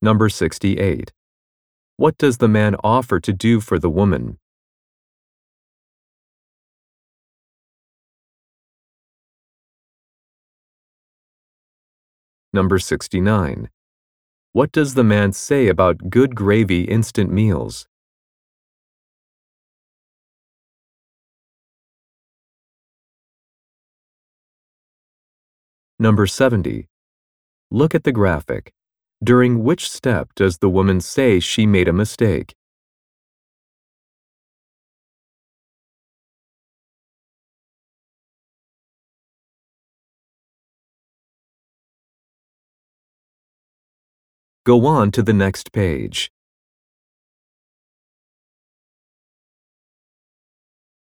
Number 68. What does the man offer to do for the woman? Number 69. What does the man say about good gravy instant meals? Number 70. Look at the graphic. During which step does the woman say she made a mistake? Go on to the next page.